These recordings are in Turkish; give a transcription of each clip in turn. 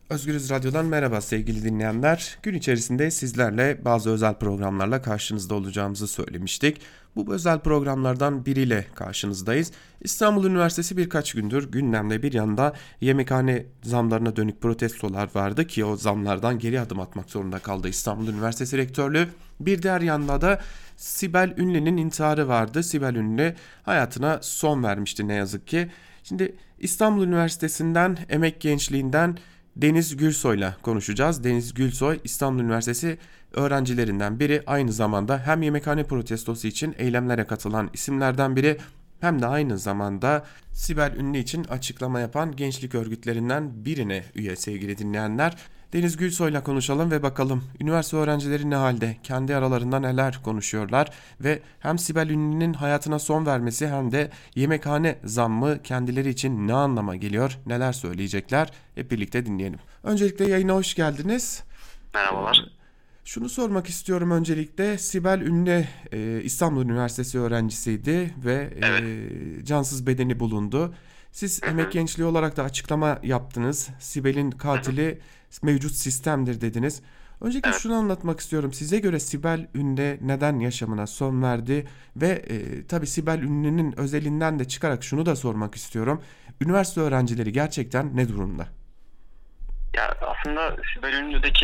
Özgürüz Radyo'dan merhaba sevgili dinleyenler. Gün içerisinde sizlerle bazı özel programlarla karşınızda olacağımızı söylemiştik. Bu özel programlardan biriyle karşınızdayız. İstanbul Üniversitesi birkaç gündür gündemde, bir yanda yemekhane zamlarına dönük protestolar vardı ki o zamlardan geri adım atmak zorunda kaldı İstanbul Üniversitesi Rektörlüğü. Bir diğer yanda da Sibel Ünlü'nün intiharı vardı. Sibel Ünlü hayatına son vermişti ne yazık ki. Şimdi İstanbul Üniversitesi'nden, emek gençliğinden Deniz Gülsoy'la konuşacağız. Deniz Gülsoy İstanbul Üniversitesi öğrencilerinden biri, aynı zamanda hem yemekhane protestosu için eylemlere katılan isimlerden biri hem de aynı zamanda Sibel Ünlü için açıklama yapan gençlik örgütlerinden birine üye sevgili dinleyenler. Deniz Gülsoy'la konuşalım ve bakalım üniversite öğrencileri ne halde, kendi aralarında neler konuşuyorlar ve hem Sibel Ünlü'nün hayatına son vermesi hem de yemekhane zammı kendileri için ne anlama geliyor, neler söyleyecekler, hep birlikte dinleyelim. Öncelikle yayına hoş geldiniz. Merhabalar. Şunu sormak istiyorum öncelikle. Sibel Ünlü İstanbul Üniversitesi öğrencisiydi ve Evet. cansız bedeni bulundu. Siz Hı emek hı. gençliği olarak da açıklama yaptınız. Sibel'in Hı hı. katili mevcut sistemdir dediniz. Öncelikle Evet. şunu anlatmak istiyorum. Size göre Sibel Ünlü neden yaşamına son verdi? Ve tabii Sibel Ünlü'nün özelinden de çıkarak şunu da sormak istiyorum. Üniversite öğrencileri gerçekten ne durumda? Ya aslında Sibel Ünlü'deki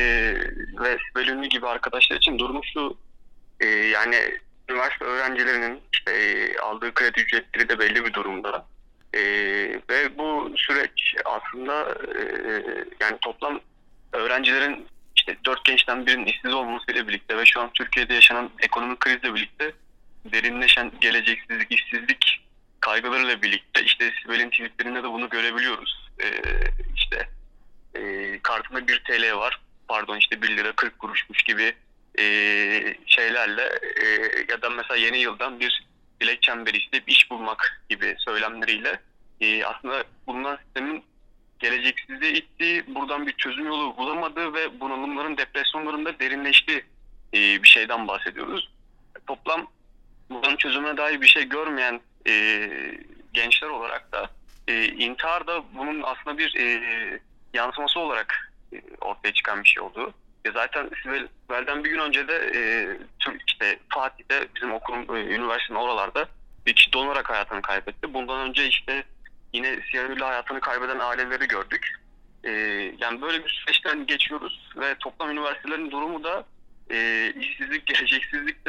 ve Sibel Ünlü gibi arkadaşlar için durum şu, yani üniversite öğrencilerinin işte aldığı kredi ücretleri de belli bir durumda. E, Ve bu süreç aslında yani toplam öğrencilerin işte 4 gençten birinin işsiz olmasıyla birlikte ve şu an Türkiye'de yaşanan ekonomik krizle birlikte derinleşen geleceksizlik, işsizlik kaygılarıyla birlikte işte Sibel'in tweetlerinde de bunu görebiliyoruz. İşte kartında 1 TL var. Pardon işte 1 lira 40 kuruşmuş gibi şeylerle ya da mesela yeni yıldan bir dilek çemberi isteyip iş bulmak gibi söylemleriyle aslında bulunan sistemin geleceksizliğe ittiği, buradan bir çözüm yolu bulamadığı ve bunalımların, depresyonların da derinleştiği bir şeyden bahsediyoruz. Toplam bunun çözümüne dair bir şey görmeyen gençler olarak da intihar da bunun aslında bir yansıması olarak ortaya çıkan bir şey oldu. Zaten Sibel'den bir gün önce de işte Fatih'te bizim okulun, üniversitenin oralarda bir kişi donarak hayatını kaybetti. Bundan önce işte yine siyahıyla hayatını kaybeden aileleri gördük. E, Yani böyle bir süreçten geçiyoruz ve toplam üniversitelerin durumu da işsizlik, geleceksizlik de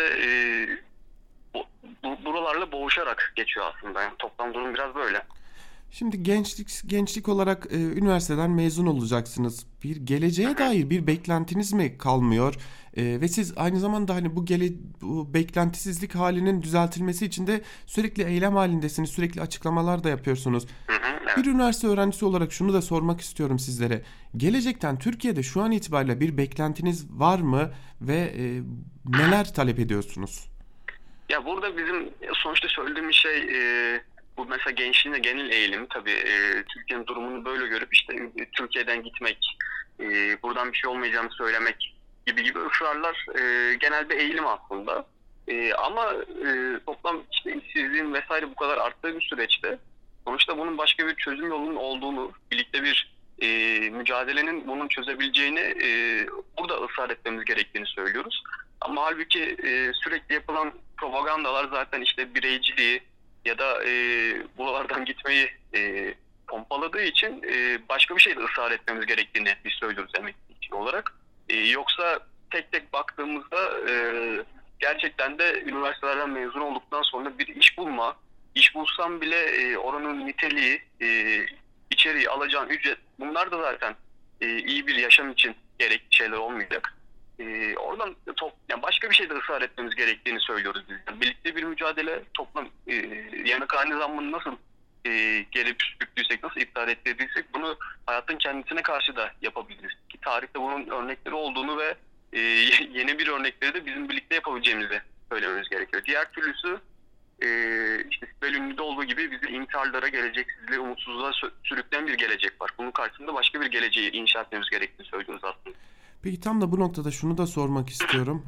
buralarla boğuşarak geçiyor aslında. Yani toplam durum biraz böyle. Şimdi gençlik olarak üniversiteden mezun olacaksınız. Bir Hı geleceğe hı. dair bir beklentiniz mi kalmıyor? Ve siz aynı zamanda hani bu beklentisizlik halinin düzeltilmesi için de sürekli eylem halindesiniz, sürekli açıklamalar da yapıyorsunuz. Hı hı. Bir Evet. üniversite öğrencisi olarak şunu da sormak istiyorum sizlere. Gelecekten Türkiye'de şu an itibariyle bir beklentiniz var mı ve neler talep ediyorsunuz? Ya burada bizim sonuçta söylediğimiz şey, bu mesela gençliğin genel eğilim tabii, Türkiye'nin durumunu böyle görüp işte Türkiye'den gitmek, buradan bir şey olmayacağını söylemek gibi ısrarlar genel bir eğilim aslında. Ama toplam işte işsizliğin vesaire bu kadar arttığı bir süreçte sonuçta bunun başka bir çözüm yolunun olduğunu, birlikte bir mücadelenin bunun çözebileceğini burada ısrar etmemiz gerektiğini söylüyoruz. Ama halbuki sürekli yapılan propagandalar zaten işte bireyciliği ya da buralardan gitmeyi pompaladığı için başka bir şeyde ısrar etmemiz gerektiğini biz söylüyoruz emekli olarak. Yoksa tek tek baktığımızda gerçekten de üniversitelerden mezun olduktan sonra bir iş bulma, iş bulsam bile oranın niteliği, içeriği, alacağın ücret, bunlar da zaten iyi bir yaşam için gerekli şeyler olmayacak. Oradan yani başka bir şeyde ısrar etmemiz gerektiğini söylüyoruz biz. Yani birlikte bir mücadele, toplam yemekhane zammını nasıl gelip sürüklüysek, nasıl iptal ettirdiysek bunu hayatın kendisine karşı da yapabiliriz. Ki tarihte bunun örnekleri olduğunu ve yeni bir örnekleri de bizim birlikte yapabileceğimizi söylememiz gerekiyor. Diğer türlüsü işte Sibel Ünlü'de olduğu gibi bizi intiharlara, geleceksizliğe, umutsuzluğa sürükleyen bir gelecek var. Bunun karşısında başka bir geleceği inşa etmemiz gerektiğini söylüyoruz aslında. Peki tam da bu noktada şunu da sormak istiyorum.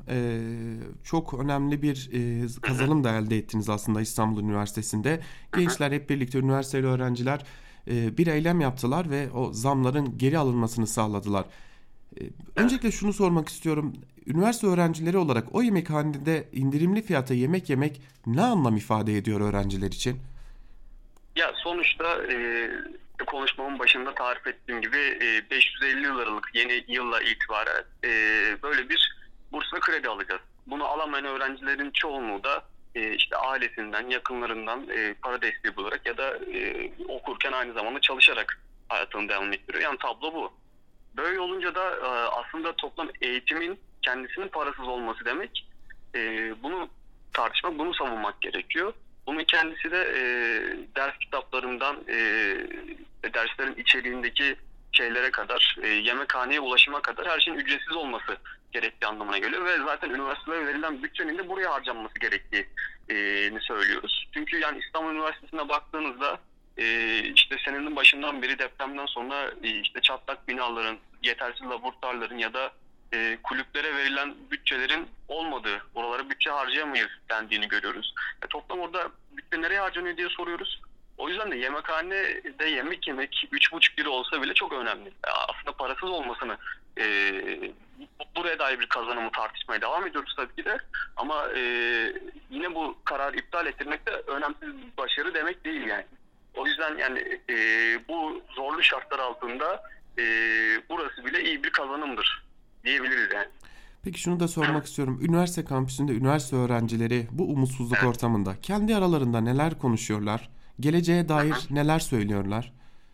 Çok önemli bir kazanım da elde ettiniz aslında İstanbul Üniversitesi'nde. Gençler hep birlikte, üniversiteli öğrenciler bir eylem yaptılar ve o zamların geri alınmasını sağladılar. Öncelikle şunu sormak istiyorum. Üniversite öğrencileri olarak o yemekhanede indirimli fiyata yemek yemek ne anlam ifade ediyor öğrenciler için? Ya sonuçta konuşmamın başında tarif ettiğim gibi 550 liralık yeni yılla itibaren böyle bir bursla kredi alacağız. Bunu alamayan öğrencilerin çoğunluğu da işte ailesinden, yakınlarından para desteği bularak ya da okurken aynı zamanda çalışarak hayatını devam ettiriyor. Yani tablo bu. Böyle olunca da aslında toplam eğitimin kendisinin parasız olması demek. Bunu tartışmak, bunu savunmak gerekiyor. Bunun kendisi de ders kitaplarından derslerin içeriğindeki şeylere kadar, yemekhaneye ulaşıma kadar her şeyin ücretsiz olması gerektiği anlamına geliyor. Ve zaten üniversitelere verilen bütçenin de buraya harcanması gerektiğini söylüyoruz. Çünkü yani İstanbul Üniversitesi'ne baktığınızda işte senenin başından beri depremden sonra işte çatlak binaların, yetersiz laboratuvarların ya da kulüplere verilen bütçelerin olmadığı, oralara bütçe harcayamayız dendiğini görüyoruz. Toplam orada bütçe nereye harcanıyor diye soruyoruz. O yüzden de yemekhanede yemek yemek 3,5 lira olsa bile çok önemli. Aslında parasız olmasını buraya dair bir kazanımı tartışmaya devam ediyoruz tabii ki de. Ama yine bu kararı iptal ettirmek de önemsiz bir başarı demek değil yani. O yüzden yani bu zorlu şartlar altında burası bile iyi bir kazanımdır diyebiliriz yani. Peki şunu da sormak istiyorum. Üniversite kampüsünde üniversite öğrencileri bu umutsuzluk Evet. ortamında kendi aralarında neler konuşuyorlar? Geleceğe dair neler söylüyorlar?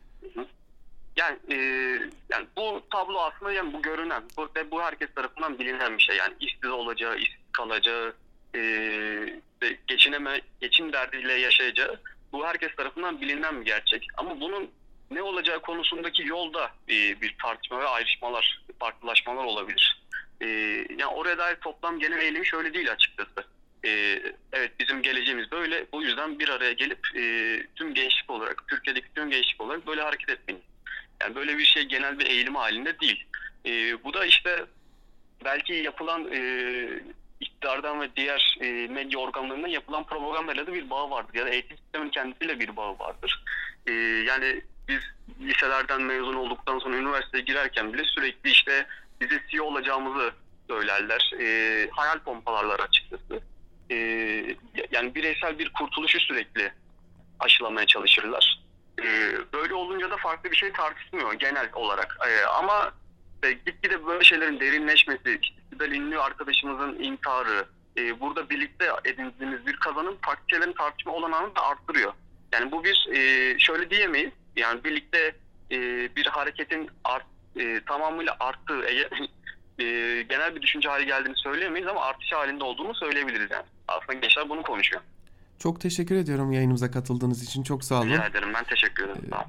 Yani bu tablo aslında yani bu görünen ve bu herkes tarafından bilinen bir şey. Yani işsiz olacağı, işsiz kalacağı, ve geçim derdiyle yaşayacağı bu herkes tarafından bilinen bir gerçek. Ama bunun ne olacağı konusundaki yolda bir tartışma ve ayrışmalar, farklılaşmalar olabilir. Yani oraya dair toplam genel eğilimi şöyle değil açıkçası. Evet bizim geleceğimiz böyle. Bu yüzden bir araya gelip tüm gençlik olarak, Türkiye'deki tüm gençlik olarak böyle hareket etmeliyiz. Yani böyle bir şey genel bir eğilim halinde değil. Bu da işte belki yapılan iktidardan ve diğer medya organlarından yapılan propagandayla da bir bağı vardır. Ya da eğitim sisteminin kendisiyle bir bağı vardır. Yani biz liselerden mezun olduktan sonra üniversiteye girerken bile sürekli işte bize CEO olacağımızı söylerler. Hayal pompalarlar açıkçası. E, Yani bireysel bir kurtuluşu sürekli aşılamaya çalışırlar. Böyle olunca da farklı bir şey tartışmıyor genel olarak. Ama gitgide böyle şeylerin derinleşmesi, işte Sibel Ünlü arkadaşımızın intiharı, burada birlikte edindiğimiz bir kazanım farklı şeylerin tartışma olanağını da arttırıyor. Yani bu bir şöyle diyemeyiz. Yani birlikte bir hareketin tamamıyla arttığı, genel bir düşünce hali geldiğini söyleyemeyiz ama artış halinde olduğunu söyleyebiliriz yani. Aslında gençler bunu konuşuyor. Çok teşekkür ediyorum yayınımıza katıldığınız için. Çok sağ olun. Rica ederim. Ben teşekkür ederim. Sağ olun.